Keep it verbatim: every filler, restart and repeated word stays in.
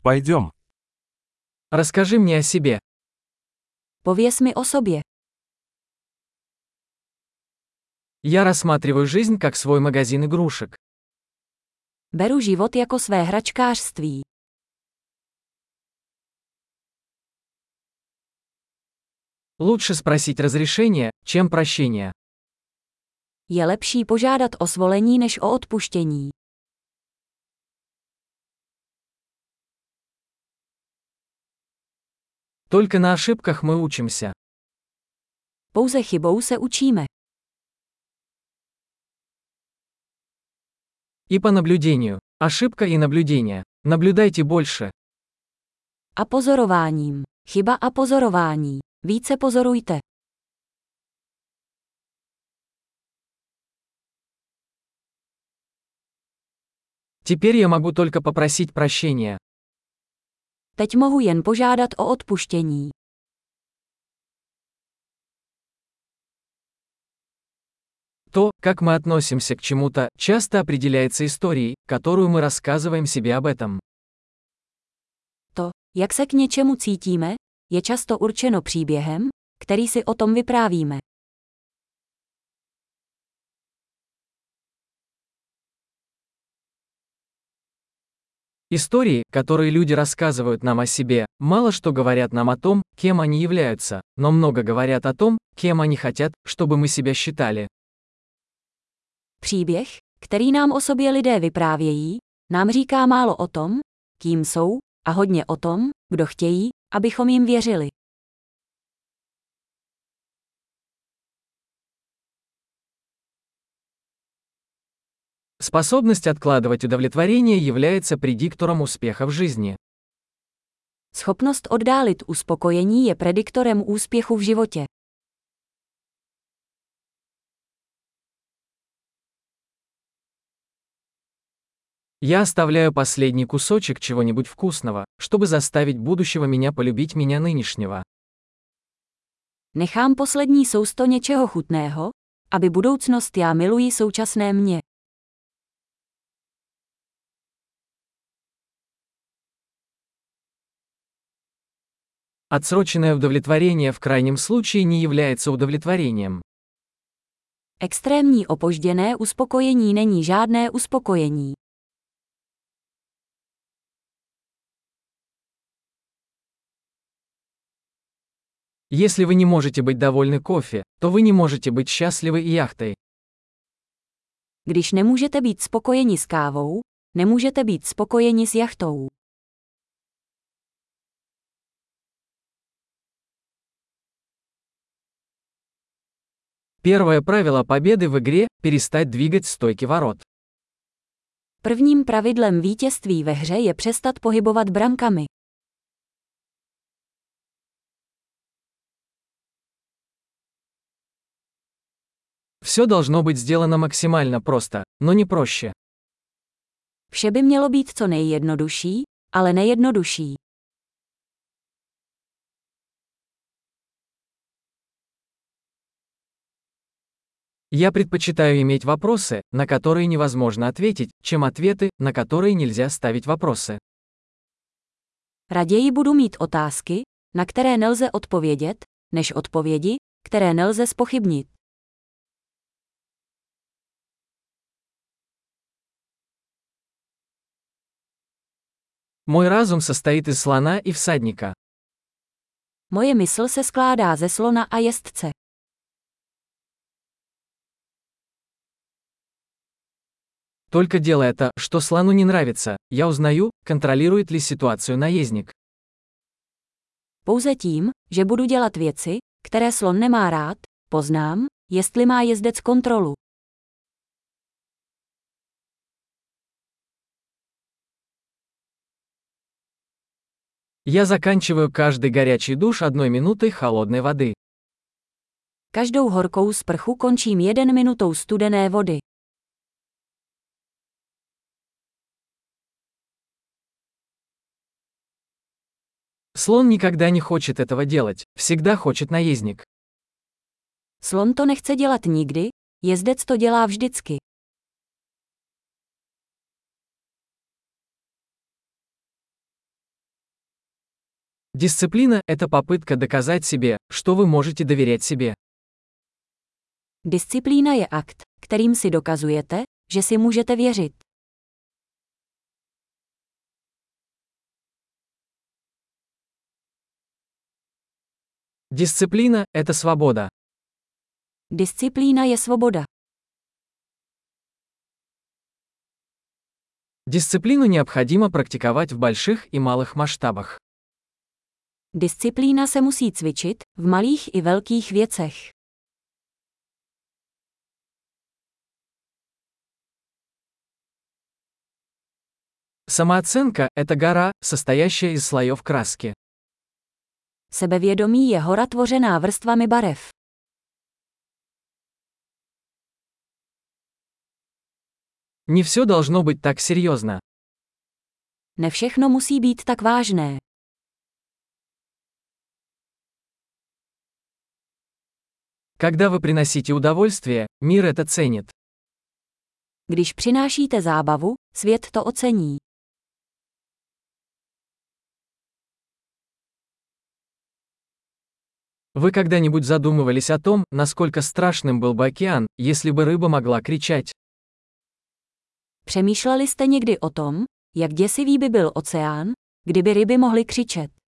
Пойдем. Расскажи мне о себе. Pověz mi o sobě. Я рассматриваю жизнь как свой магазин игрушек. Beru život jako své hračkářství. Лучше спросить разрешение, чем прощение. Je lepší požádat o svolení než o odpuštění. Только на ошибках мы учимся. Pouze chybou se učíme. И по наблюдению. Ошибка и наблюдение. Наблюдайте больше. A pozorováním. Chyba a pozorování. Více pozorujte. Теперь я могу только попросить прощения. Teď mohu jen požádat o odpuštění. То, как мы относимся к чему-то, часто определяется историей, которую мы рассказываем себе об этом. To, jak se k něčemu cítíme, je často určeno příběhem, který si o tom vyprávíme. Истории, которые люди рассказывают нам о себе, мало что говорят нам о том, кем они являются, но много говорят о том, кем они хотят, чтобы мы себя считали. Příběh, který nám o sobě lidé vyprávějí, nám říká málo o tom, kým jsou, a hodně o tom, kdo chtějí, abychom jim věřili. Способность откладывать удовлетворение является предиктором успеха в жизни. Schopnost oddálit uspokojení je prediktorem úspěchu v životě. Я оставляю последний кусочек чего-нибудь вкусного, чтобы заставить будущего меня полюбить меня нынешнего. Nechám poslední sousto něčeho chutného, aby budoucnost já miluji současné mě. Отсроченное удовлетворение в крайнем случае не является удовлетворением. Extrémní opožděné uspokojení není žádné uspokojení. Если вы не можете быть довольны кофе, то вы не можете быть счастливы и яхтой. Když nemůžete být spokojeni s kávou, nemůžete být spokojeni s jachtou. Первое правило победы в игре – перестать двигать стойки ворот. Prvním pravidlem vítězství ve hře je přestat pohybovat brankami. Все должно быть сделано максимально просто, но не проще. Vše by mělo být co nejjednodušší, ale nejjednodušší. Я предпочитаю иметь вопросы, на которые невозможно ответить, чем ответы, на которые нельзя ставить вопросы. Raději budu mít otázky, na které nelze odpovědět, než odpovědi, které nelze zpochybnit. Мой разум состоит из слона и всадника. Moje mysl se skládá ze slona a jezdce. Только делая то, что слону не нравится, я узнаю, контролирует ли ситуацию наездник. Pouze tím, že budu dělat věci, které slon nemá rád, poznám, jestli má jezdec kontrolu. Я заканчиваю каждый горячий душ одной минутой холодной воды. Každou horkou sprchu končím jeden minutou studené vody. Слон никогда не хочет этого делать, всегда хочет наездник. Slon to nechce dělat nikdy, jezdec to dělá vždycky. Дисциплина – это попытка доказать себе, что вы можете доверять себе. Disciplína je akt, kterým si dokazujete, že si můžete věřit. Дисциплина – это свобода. Disciplína je svoboda. Дисциплину необходимо практиковать в больших и малых масштабах. Disciplína se musí cvičit v malých i velkých věcech. Самооценка – это гора, состоящая из слоев краски. Sebevědomí je hora tvořená vrstvami barev. Не все должно быть так серьезно. Ne všechno musí být tak vážné. Когда вы приносите удовольствие, мир это ценит. Když přinášíte zábavu, svět to ocení. Вы когда-нибудь задумывались о том, насколько страшным был бы океан, если бы рыба могла кричать? Přemýšleli jste někdy o tom, jak děsivý by byl oceán, kdyby ryby mohly křičet?